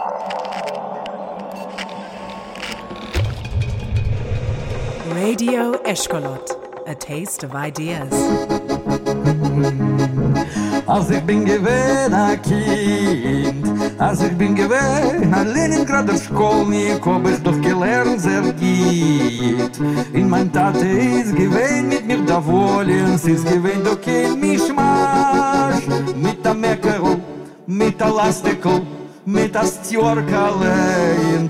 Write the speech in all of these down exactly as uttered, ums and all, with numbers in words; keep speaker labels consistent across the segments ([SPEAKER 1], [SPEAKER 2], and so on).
[SPEAKER 1] Radio Eshkolot, a taste of ideas.
[SPEAKER 2] Als ich bin gewesen ein Kind, als ich bin gewesen ein Leningrader Schkolnik, hab ich doch gelernt sehr gut. In mein Tate ist gewesen mit mir da wollen, sie ist gewesen doch kein Mischmasch. Mit der Meckerl, mit der Lastikel, mit der Stjorkale in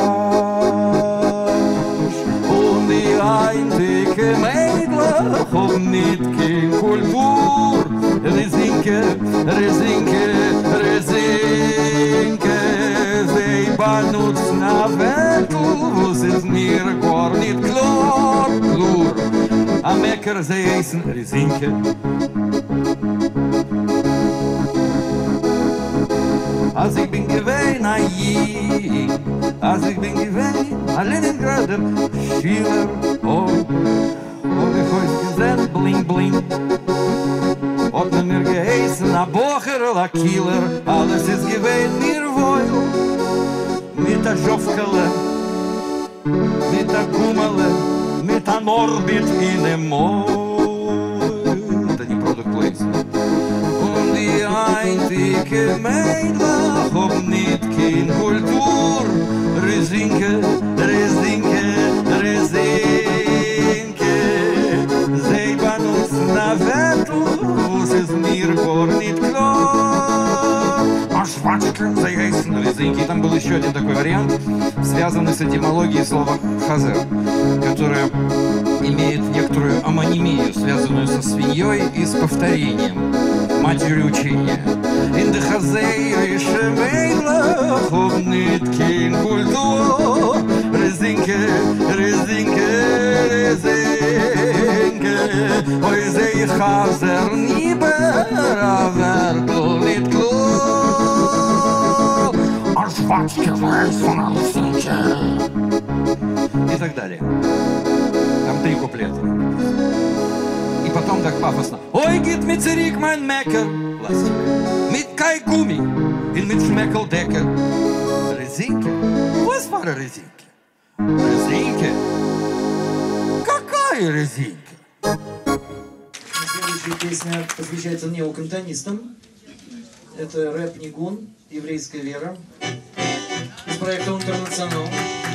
[SPEAKER 2] Tasch. Und die einzige Mädel hab nicht kein Kultur. Rezinke, Rezinke, Rezinke, sie benutzen a Wettel, was ist mir gar nicht klar, klur. Am Äcker sie essen Rezinke. Als ich bin gewesen a Jid, als ich bin gewesen a Leningrader Schiller, oh, oh, ich weiß gesehen, bling, bling. Hat man mir geheißen, a Bocher oder a Kieler, alles ist gewesen mir wohl. Mit a Schofkele, mit a Gummele, mit a Norbit in dem Moll. Это не product placement. Und die einzige Mädel hab nicht kein Kultur. Rezinke, Rezinke, Rezinke, sie benutzen a Wettel, ist mir gar nicht klar. А швачка заяйсен резинки. Там был еще один такой вариант, связанный с этимологией слова хазер, которое имеет некоторую амонимию, связанную со свиньей и с повторением, матерью учения. In de hazerische Mädel hab nicht kein Kultur. Rezinke, Rezinke, Rezinke, oi seh ich hazer nieber, aber du nicht klar. А швачки weiß von Rezinke. И так далее. Там три куплета. И потом так пафосно. Ой, geht mit zurück mein Mecker. Mit kein Gummi, bin mit Schmeckeldecker. Резинки? Was war eine Резинки? Резинки? Какая резинка?
[SPEAKER 3] Следующая песня посвящается неокантонистам. Это рэп Нигун, еврейская вера. Из проекта «Интернационал».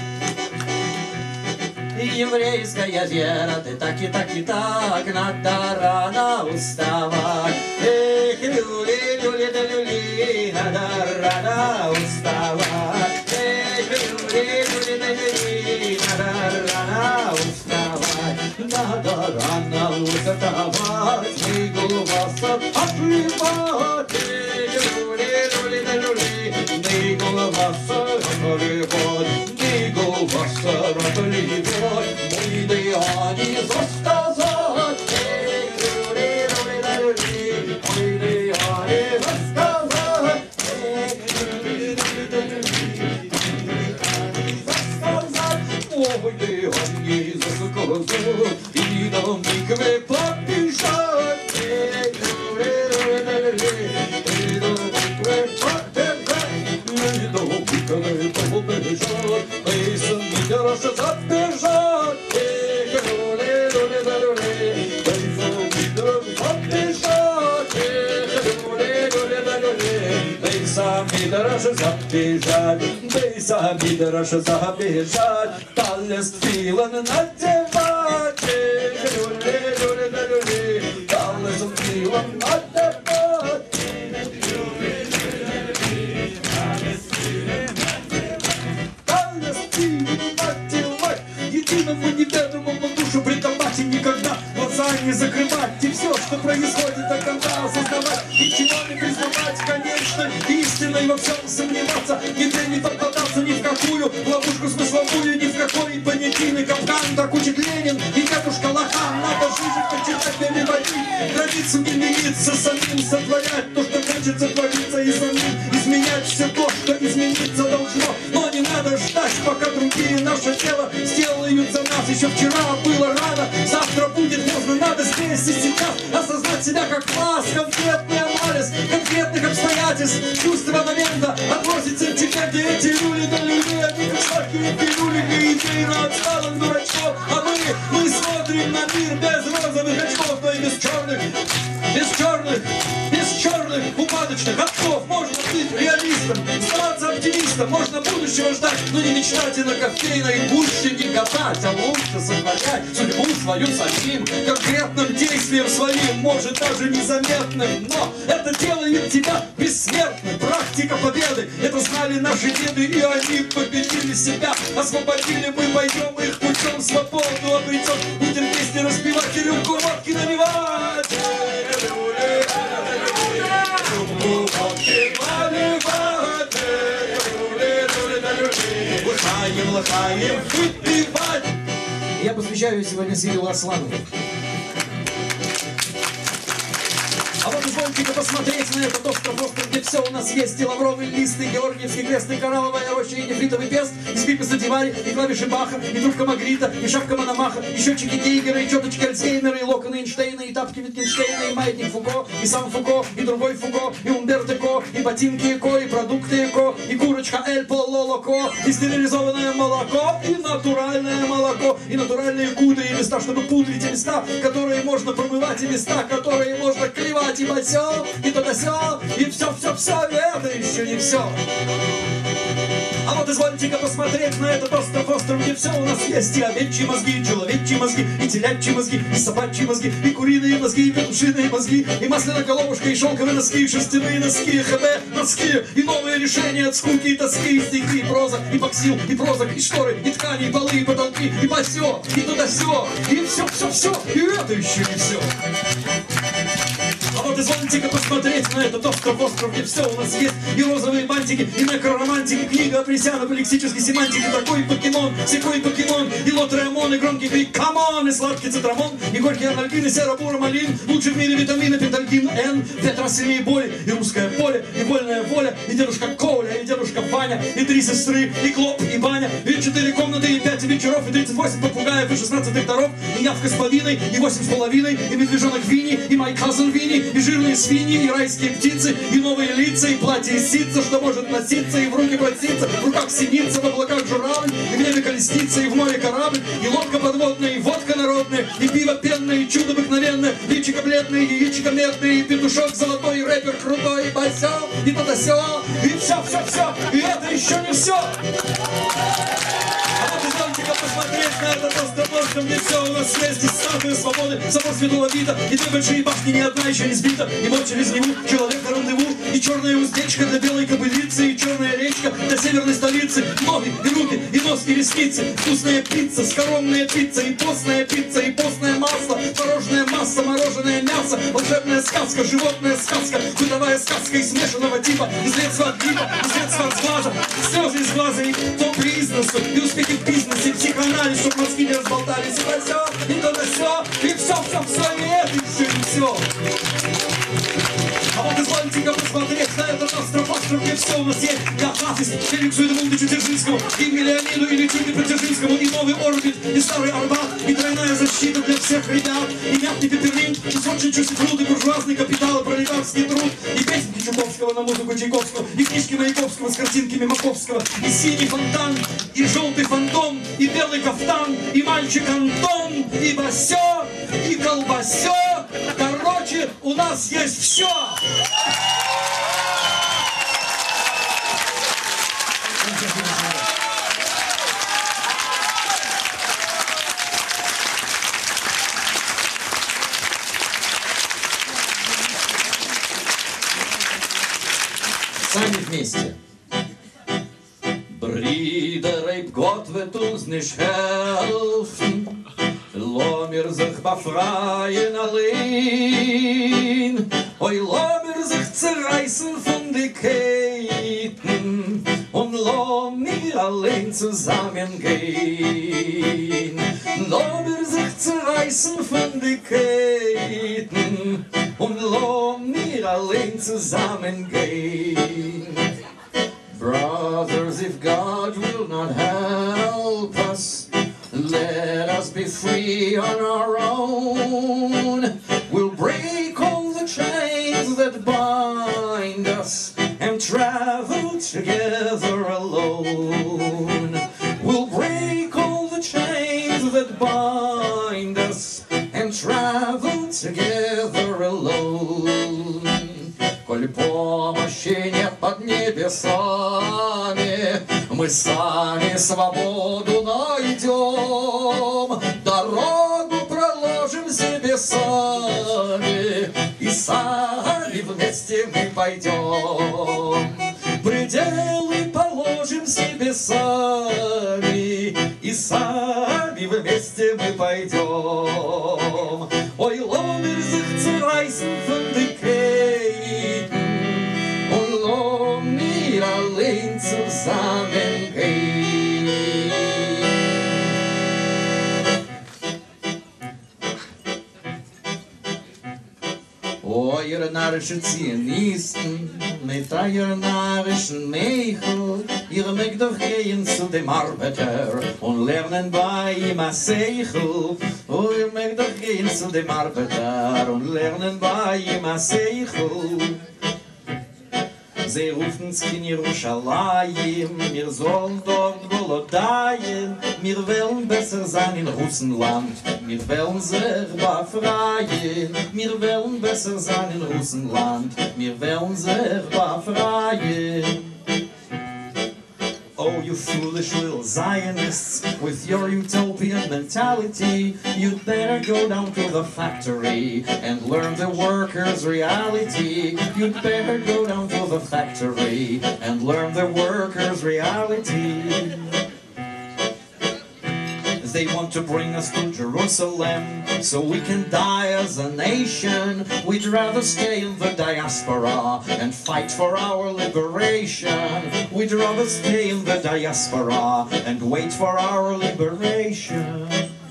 [SPEAKER 3] Еврейская вера, ты так и так и так, надо рано уставать. Эх, люли, люли, да люли, надо рано уставать. Эх, люли, люли, да люли, надо рано уставать. Надо рано уставать, мы глаза отливать. Эх, люли, люли, да люли, мы глаза отливать. Глаза отливать, мы да не засказать. И на микве побежать. И на микве побежать. И на микве побежать. И сам Мидораш забежать. И люли, люли, да люли. И сам Мидораш побежать. И люли, люли, да люли. И сам Мидораш забежать. И сам Мидораш забежать. Талест филан надевать. Люли, люли, да люли. Талест филан надевать. Талест филан надевать. Единому неведомому душу предавать и никогда глаза не закрывать. И все, что происходит, до конца осознавать. Ничего не признавать, конечно, истиной во всем сомневаться. Нигде не попадаться ни в какую ловушку смысловую, ни в какой понятийный капкан. Так учит Ленин и дедушка Лохан. Надо жизнь почитать, переводить, границы не лениться, самим сотворять то, что хочется твориться, и самим изменять все то, что измениться должно. Но не надо ждать, пока другие наше тело сделают за нас. Еще вчера было рано, завтра будет поздно. Надо здесь и сейчас осознать себя как класс. Конкретный анализ конкретных обстоятельств, чувства момента, отбросить сентимент Эти, эти люди на людей, они как сладкие пилюли для идей на отсталых дурачков. А мы, мы смотрим на мир без розовых очков, но и без черных, без черных, без черных упадочных очков. Можно быть реалистом, оставаться оптимистом, можно будущего ждать, но не мечтать и на кофейной гуще не гадать, а лучше сохранять судьбу свою самим, конкретным действием своим, может даже незаметным, но это делает тебя бессмертным. Практика победы, это знали наши деды, и они победили себя, освободили, мы пойдем их путем, свободу обретем, будем песни распевать и рюмку водки наливать. Лыхаем, лыхаем, выпивать. Я посвящаю сегодня Сирилу Асланову. А вот извольте-ка посмотреть на этот остров, остров, где все у нас есть. И лавровый лист, и георгиевский крест, и коралловая роща, и нефритовый пест, и скрипка Дивари, и клавиши Баха, и трубка Магрита, и шапка Мономаха, и счетчики Гейгера, и четочки Альцгеймера, и локоны Эйнштейна, и тапки Витгенштейна, и маятник Фуко, и сам Фуко, и другой Фуко, и Умберто Эко, и ботинки Эко, и продукты Эко, и курочка Эль Пололоко, и стерилизованное молоко, и натуральное молоко, и натуральные кудры, и места, чтобы пудрить, и места, которые можно промывать, и места, которые можно клевать, и басё, и то-да-сё, и все-все-все, и это еще не все. А вот извольте-ка посмотреть на этот остров, остров, где все у нас есть. И овечьи мозги, и человечьи мозги, и телячьи мозги, и собачьи мозги, и куриные мозги, и петушиные мозги, и масляная головушка, и шелковые носки, и шерстяные носки, и хб носки, и новые решения от скуки и тоски, и стихи, и проза, и боксил, и прозок, и шторы, и ткани, и полы, и потолки, и басё, и туда-сё, и все-все-все, и это еще не все. А вот извольте-ка посмотреть на этот остров, остров, где все у нас есть. И розовые бантики, и некроромантики, книга апресянов, и лексической семантики, такой покемон, секой покемон, и лотреамон, и громкий крик камон, и сладкий цитрамон, и горький анальгин, и серобуромалин, лучший в мире витамины, пентальгин, Н, пять раз сильнее боли, и русское поле, и вольная воля, и дедушка Коля, и дедушка Ваня, и три сестры, и Клоп, и Баня, и четыре комнаты, и пять вечеров, и тридцать восемь попугаев, и шестнадцать докторов, и явка с половиной, и восемь с половиной, и медвежонок Винни, и май cousin Винни, и жирные свиньи, и райские птицы, и новые лица, и платье из ситца, что может носиться, и в руки проситься, в руках синица, в облаках журавль, и в небе колесница, и в море корабль, и лодка подводная, и водка народная, и пиво пенное, и чудо обыкновенное, личико бледное, и яичко медное, и петушок золотой, и рэпер крутой, и басё, и то-да-сё, и все-все-все, и это еще не все. А вот извольте-ка посмотреть на этот остров, остров, где все у нас есть. И статуя свободы, собор Святого Вита, и две большие башни, ни одна еще не сбита, и вот через Неву человека рандеву, и черная уздечка для белой кобылицы, и черная речка для северной столицы, ноги, и руки, и нос, и ресницы, вкусная пицца, скоромная пицца, и постная пицца, и постное масло, творожная масса, мороженое мясо, волшебная сказка, животная сказка, бытовая сказка из смешанного типа, из средства от гриппа, из средства от сглаза, слезы из глаза, и топ бизнесу, и успехи в бизнесе, психоанализ, чтоб мозги не разболтались, и то все, и то все, и все-все-все, и это еще не все. А вот извольте-ка посмотреть на этот остров, остров, где все у нас есть. Я Хафиз, Феликсу Эдмунду Чертержинскому, и Миллиониду, и Летите Протержинскому, и новый орбит, и старый Арбат, и тройная защита для всех ребят, и мятный пепперминт, и сочный чусифрут, и буржуазный капитал, и пролетарский труд, и песенки Чуковского на музыку Чайковского, и книжки Маяковского с картинками Маковского, и синий фонтан, и желтый фантом, и белый кафтан, и мальчик Антон, и басё, и колбасё. Короче, у нас есть все. Сами вместе. Brüder, Gott wird uns nicht helfen. Lo mir sich befreien allein. Oi, lo mir sich zerreißen von die Ketten und lo mir allein zusammengehen. Lo mir sich zerreißen von die Ketten und lo mir allein zusammengehen. Brothers, if God will not help us, let us be free on our own. We'll break all the chains that bind us and travel together alone. We'll break all the chains that bind us and travel together alone. Коль помощи нет под небесами, мы сами свободу найдем, дорогу проложим себе сами, и сами вместе мы пойдем. Пределы положим себе сами, и сами вместе мы пойдем. Ой, lass mir sich zerreißen von den Käden und lass mir allein zusammengehen. Oh, ihr narrischen Zionisten, mit eurer narrischen Meichel, ihr mögt doch gehen zu dem Arbeiter und lernen bei ihm a Seichel. Oh, ihr mögt doch gehen zu dem Arbeiter und lernen bei ihm a Seichel. Sie rufen's in Jerusalem, wir sollen dort golodien, wir wollen besser sein in Russenland, wir wollen sich befreien, wir wollen besser sein in Russenland, wir wollen sich befreien. Oh, you foolish little Zionists, with your utopian mentality, you'd better go down to the factory and learn the workers' reality. You'd better go down to the factory and learn the workers' reality. They want to bring us to Jerusalem so we can die as a nation. We'd rather stay in the diaspora and fight for our liberation. We'd rather stay in the diaspora and wait for our liberation.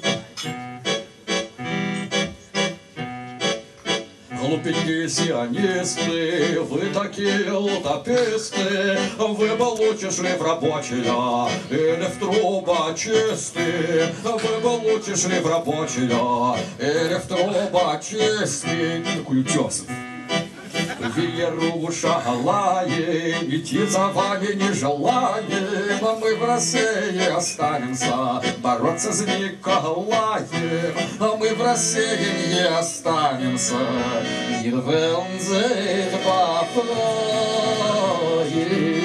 [SPEAKER 3] Глупенькие сионисты, вы такие утописты, вы получишь ли в рабочего или в трубочисты, вы получишь ли в рабочего или в трубочисты. Какой утесов. В Иерушалаим идти за вами не желаем, а мы в России останемся бороться с Николаем, а мы в России не останемся. Wir wollen sich befreien.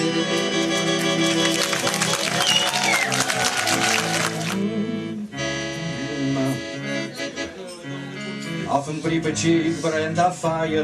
[SPEAKER 3] Auf dem Pripetschik brennt a Feuer.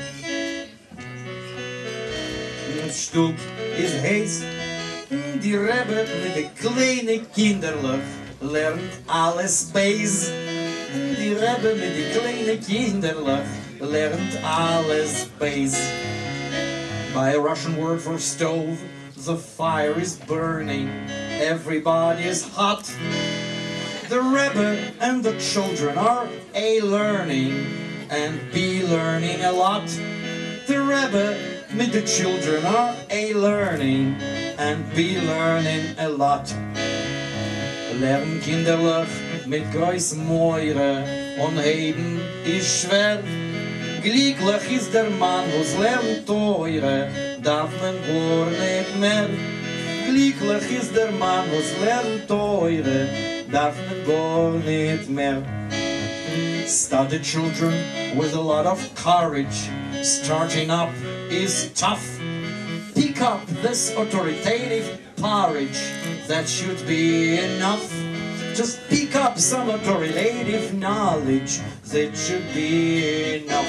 [SPEAKER 3] Stub ist heiß, die Rebbe mit den kleinen Kinderlach lernt alles Beis. Die Rebbe mit den kleinen Kinderlach lernt alles Beis. By a Russian word for stove, the fire is burning, everybody is hot. The Rebbe and the children are A learning and B learning a lot. The Rebbe with the children are A learning and B learning a lot. Lernen kinderlich mit groß Meure und Heden ist schwer. Glücklich ist der Mann, was lernt teure, darf man gar nicht mehr. Glücklich ist der Mann, was lernt teure, darf man gar nicht mehr. Study children with a lot of courage. Starting up is tough. Pick up this authoritative porridge. That should be enough. Just pick up some authoritative knowledge. That should be enough.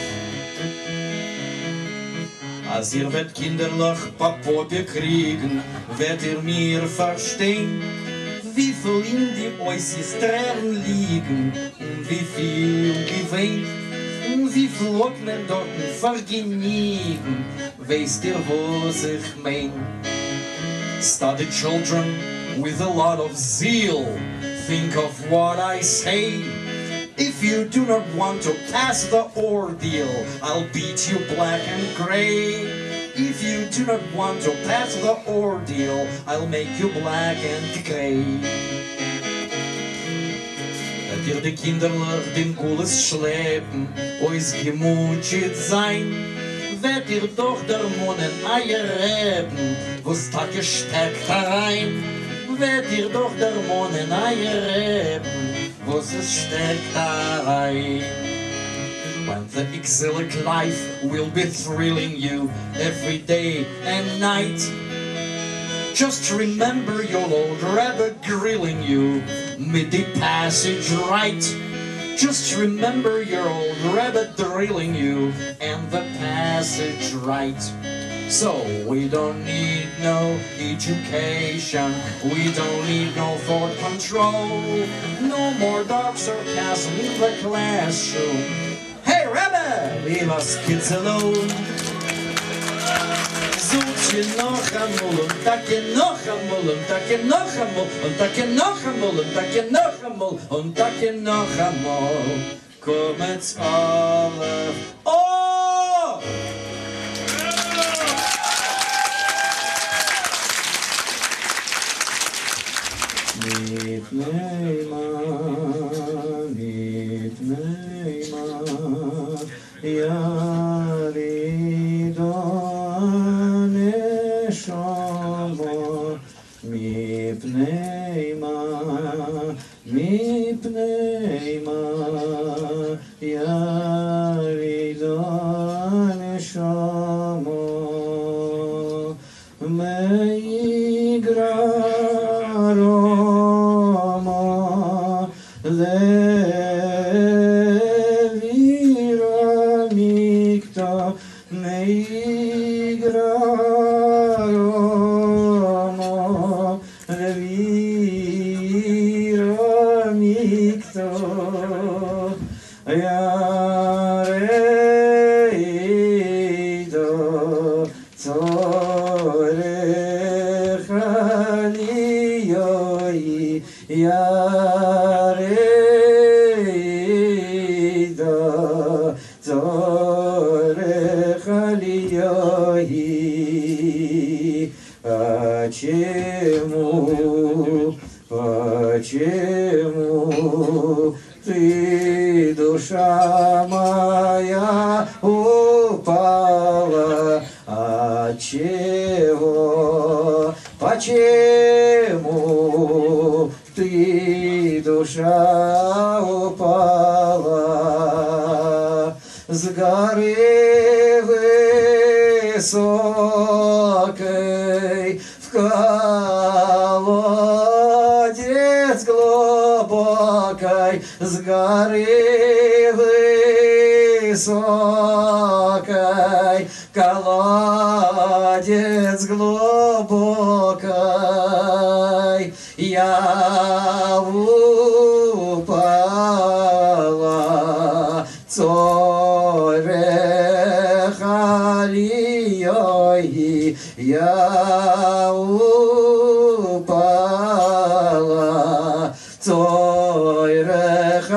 [SPEAKER 3] Als ihr wird kinderlich Papope kriegen, werdet ihr mir verstehen, wie viel in die äußersten Tränen liegen und wie viel gewähnt und wie viel hat man dort vergeniegen, weißt ihr, was ich mein? Study children with a lot of zeal, think of what I say. If you do not want to pass the ordeal, I'll beat you black and gray. If you do not want to pass the ordeal, I'll make you black and gray. Da dir die Kinderlach den Gules schleppen, ois gemutscht sein,
[SPEAKER 4] wird ihr doch der Monen Eier reben, wo's da gesteckt herein. Wird ihr doch der Monen Eier reben, wo's es steckt herein. When the exilic life will be thrilling you every day and night, just remember your old rabbit grilling you mid the passage right. Just remember your old rabbit drilling you and the passage right. So we don't need no education, we don't need no thought control, no more dark sarcasm in the classroom. Hey Rabbi, leave us kids alone. Sucht je noch einmal und takke noch einmal und takke noch einmal und takke noch einmal und takke noch einmal und takke noch einmal. Kommet's alle. Oh! Mit Neymar, mit Neymar, ja, Ridon, Neshama, mipnei ma, mipnei ma, ya Ridon, Neshama, meigraroma, levira mikta, meigraroma, levira mikta, yareida tzorech aliyoi, yareida tzorech aliyoi. Почему, почему ты, душа моя, упала? Отчего, почему ты, душа, упала? С горы высокой в колодец глубокой, с горы высокой колодец глубокой я упала. Цорех алиёй я упала. Цорех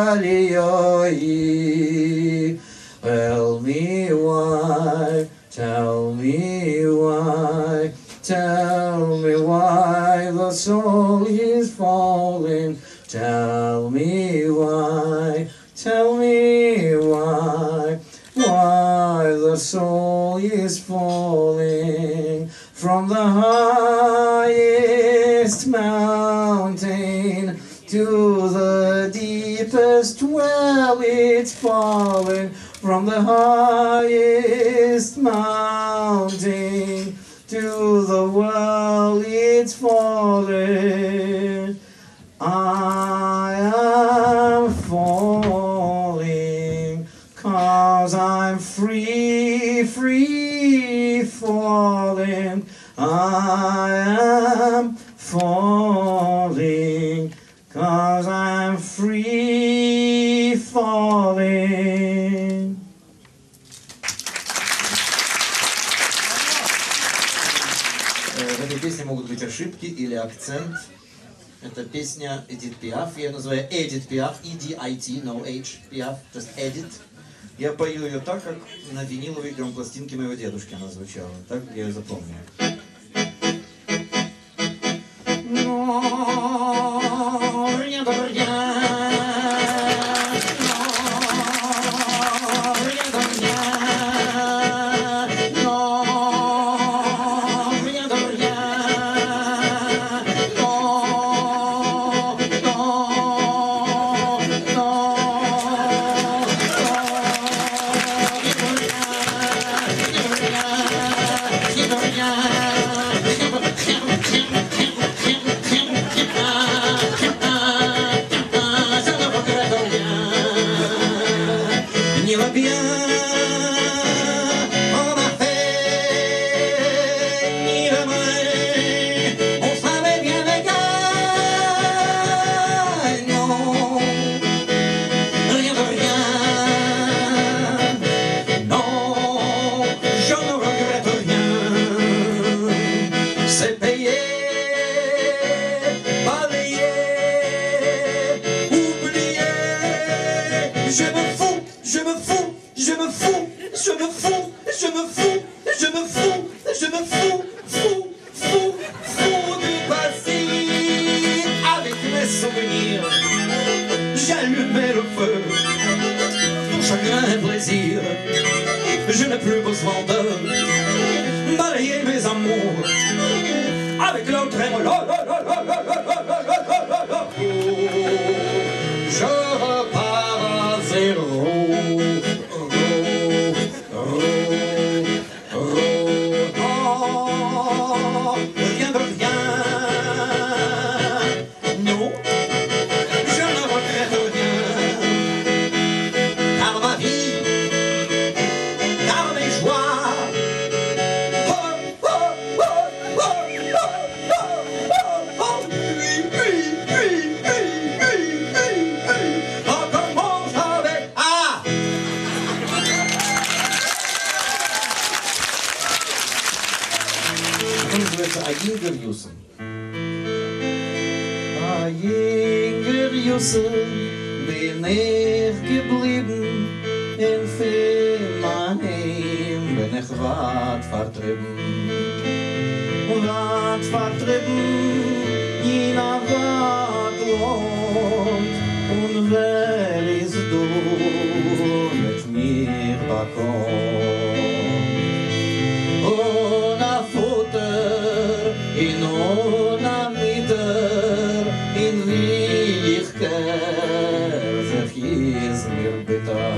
[SPEAKER 4] алиёй. Tell me why, tell me why, tell me why the soul is falling. Tell me why, tell me why, why the soul is falling from the highest mountain to the deepest well. It's falling from the highest mountain to the well. It's falling. I am falling, 'cause I'm free, free falling. I am falling, 'cause I'm free falling.
[SPEAKER 5] В этой песне могут быть ошибки или акцент. Это песня Эдит Пиаф, я ее называю Эдит Пиаф, И Ди Ай Ти, no H, Пиаф, just Эдит. Я пою ее так, как на виниловой грампластинке моего дедушки она звучала, так я ее запомню. main, on savait bien les gagnants. Rien de rien, non, je ne regrette rien. C'est payé, balayé, oublié. Je me fous, je me fous, je me fous, je me fous, je me fous, je me fous, je me fous, fou, fou, fou du passé. Avec mes souvenirs, j'allumais le feu. Pour chagrin et plaisir, je n'ai plus besoin de balayer mes amours. Avec l'autre trémolo, je repars à zéro. Rien de rien, non, je ne regrette rien. Car ma vie, car mes joies, oh, oh, oh, oh, oh, oh, oh, oh, oui, oui, oui, oui, oui, oui, oui. On commence avec A. Он называется «Аингер Юсен». Ayinger Jussen bin ich geblieben, in Filmheim bin ich weit vertrieben. Weit vertrieben, in a weit Land, und wer ist du mit mir bekommen? Ohne Futter, in ohne Mieter, in Wirklichkeit, sich ist mir bitter.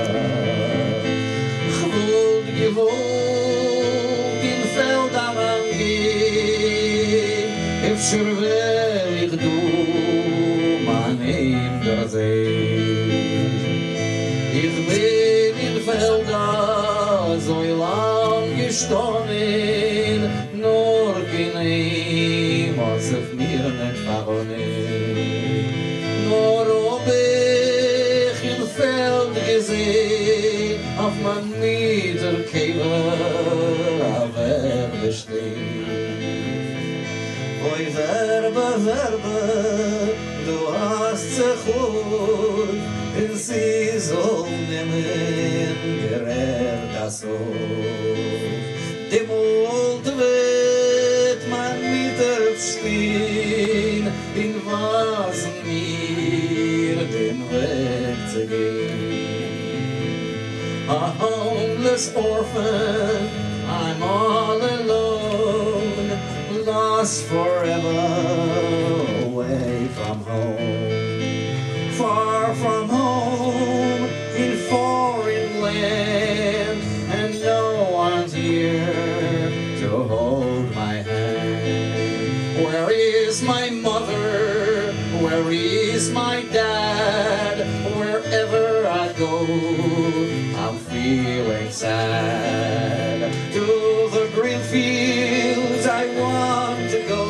[SPEAKER 5] Ich wollte gewohnt in Feldern angehen, öfter will ich du mein Hinder sehen. Ich bin in Feldern so lang gestanden, nur kein ihm, als ich mir nicht verronnen. Nur ob ich im Feld gesehen, auf mein Niederkäfer, auf er besteht. Oi Verbe, Verbe, du hast sich gut, und sie soll nehmen, gerät das Hof. Dem Mund wird man stehen, in was mir den Weg zu gehen. A homeless orphan, I'm all alone, lost forever away from home. Far from home, in foreign land, and no one's here to hold my hand. Where is my mother? Where is my dad? Wherever I go, I'm feeling sad. To the green fields I want to go.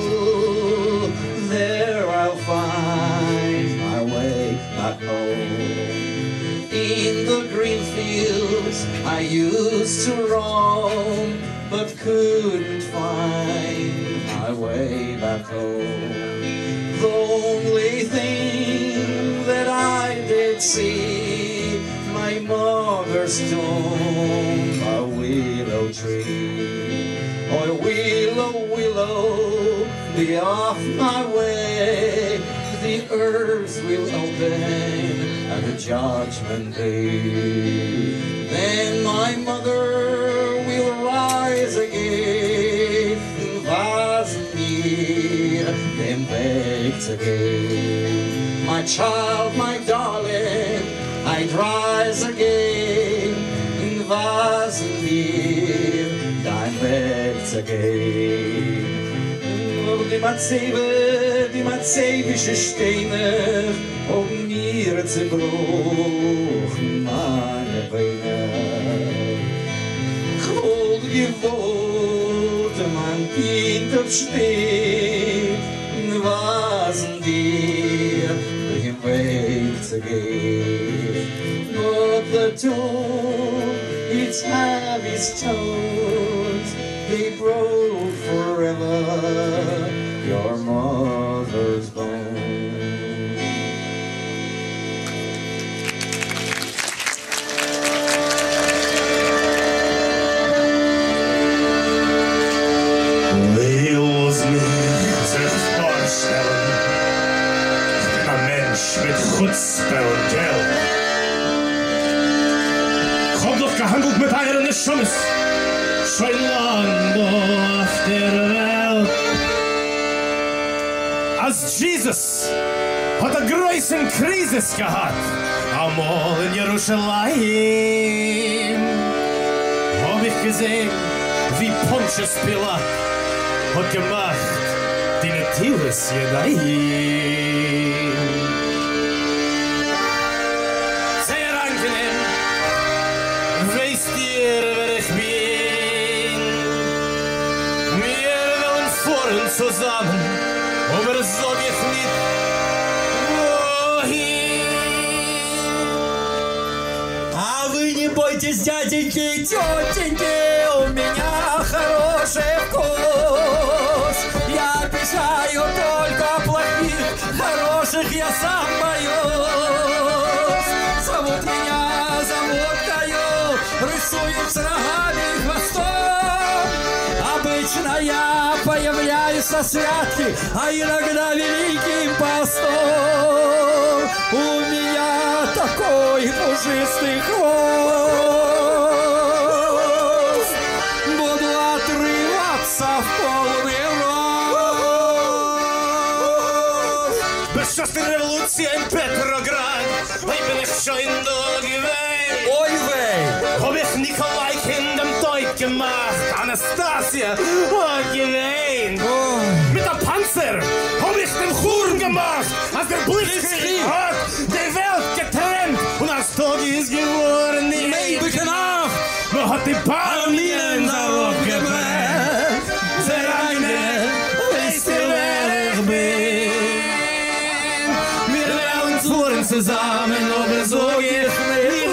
[SPEAKER 5] There I'll find my way back home. In the green fields I used to roam, but couldn't find my way back home. The only thing that I did see, my mother's tomb, a willow tree. Oh, willow, willow, be off my way. The earth will open at the judgment day. Then my mother will rise again, was mir dem Weg zu gehen. My child, my darling, I'd rise again, was mir dein Weg zu gehen. Nur die Matzebe, die mazebische Steine, um mir zu bruchen meine Beine. Cold gewohnt, mein Kind
[SPEAKER 3] hintersteht, wasn dir im Weg zu gehen. But the tomb, its heavy stones, they broke forever your mother's bones.
[SPEAKER 6] Mit Chutzpe und Geld. Ich hab doch gehandelt mit euren Schummes, schon lang auf der Welt. Als Jesus hat eine große Krise gehabt, einmal in Jerusalem, hab ich gesehen, wie Pontius Pilat hat gemacht, die Natives Jedaim. Weißt ihr, wer ich bin? Wir wollen fahren zusammen, aber sag ich nicht, wohin.
[SPEAKER 3] А вы не бойтесь, дяденьки и тетеньки, у меня хороший вкус. Я обещаю только плохих, хороших я сам боюсь. Зовут меня, зовут Каю, рисуют с рогами и хвостом. Обычно я появляюсь со святки, а иногда великим постом. У меня такой пушистый хвост, буду отрываться в полный рост.
[SPEAKER 6] Beschossen Revolution in Petrograd, ich bin ich schon da gewesen.
[SPEAKER 3] Ой, вей!
[SPEAKER 6] Hab ich Nikolai in dem Deut gemacht, Anastasia hat gewähnt. Mit der Panzer hab ich den Churn gemacht, als der Blitzkrieg hat die Welt getrennt. Und als Tag ist geworden,
[SPEAKER 3] Nee, beknacht!
[SPEAKER 6] man hat die Palminen darauf gebrannt. Der eine, weißt du, wer ich bin? Wir werden fuhren zusammen, aber so ich nicht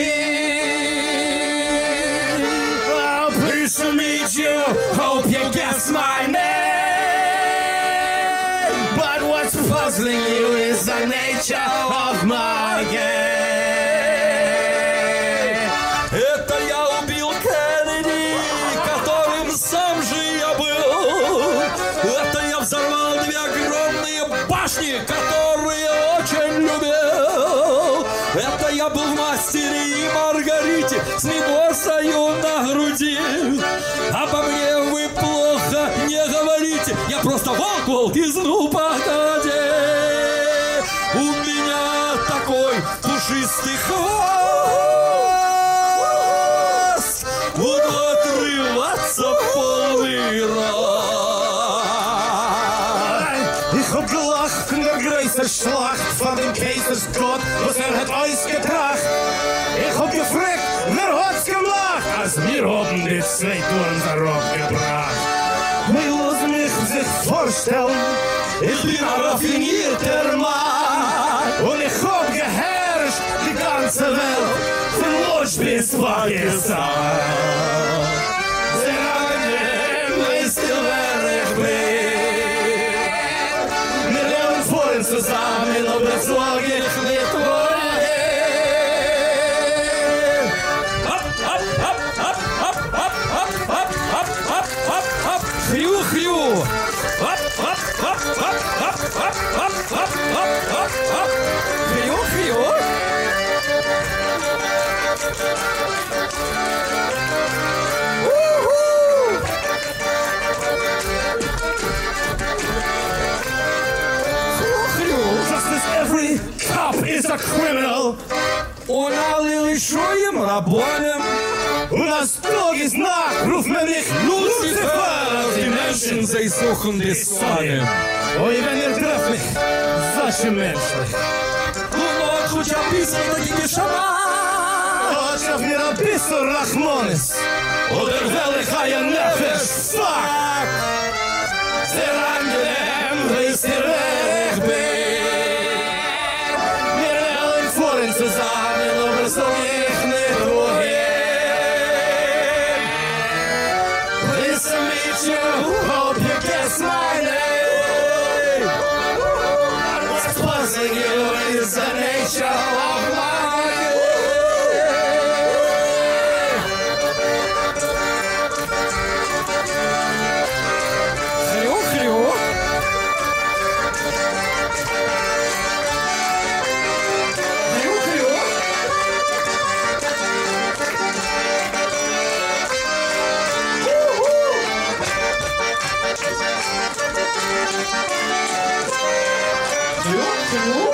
[SPEAKER 6] wohin. Oh, pleased to meet you, hope you guess my name. But what's puzzling you is the nature of my game.
[SPEAKER 3] Это я убил Кеннеди, которым сам же я был. Это я взорвал две огромные башни, которые очень любил. Это я был в «Мастере и Маргарите» с Мимозою на груди. Обо мне вы плохо не говорите, я просто волк-волк из «Ну, погоди». У меня такой пушистый хвост, буду отрываться в полный рост.
[SPEAKER 6] Ich hab gelacht in der größten Schlacht von dem Kaisersgott, was er hat ausgetracht. Ich hab gefragt, wer hat's gemacht, als wir haben die zwei Touren darauf gebracht. Wir lassen mich sich vorstellen, ich bin ein raffinierter Mann und ich hab geherrscht die ganze Welt, von Lodz bis Pakistan. Sehr angenehm, weißt du, wer ich bin? Wir leben vorhin zusammen, aber sag ich nicht wohin.
[SPEAKER 3] Ап, ап, ап, ап, ап, ап, ап, ап, ап, ап, ап, ап, хрю-хрю. Ап, ап, ап, ап, ап, ап, ап, ап, ап, ап, ап, хрю-хрю. У-ху! Хрю-хрю.
[SPEAKER 6] Just as every cop is a criminal,
[SPEAKER 3] Он налил еще им рабонем.
[SPEAKER 6] у нас строгий знак, ruft man mich Lucifer.
[SPEAKER 3] Die Menschen, sie suchen die Sonne.
[SPEAKER 6] Ой, wenn ihr trefft mich, solche Menschen.
[SPEAKER 3] Лунок хоть описан такими шаман.
[SPEAKER 6] Хоть auf mir ein bisschen Rachmanis, oder will ich ein Nefesh, fuck.
[SPEAKER 3] Хрю, хрю.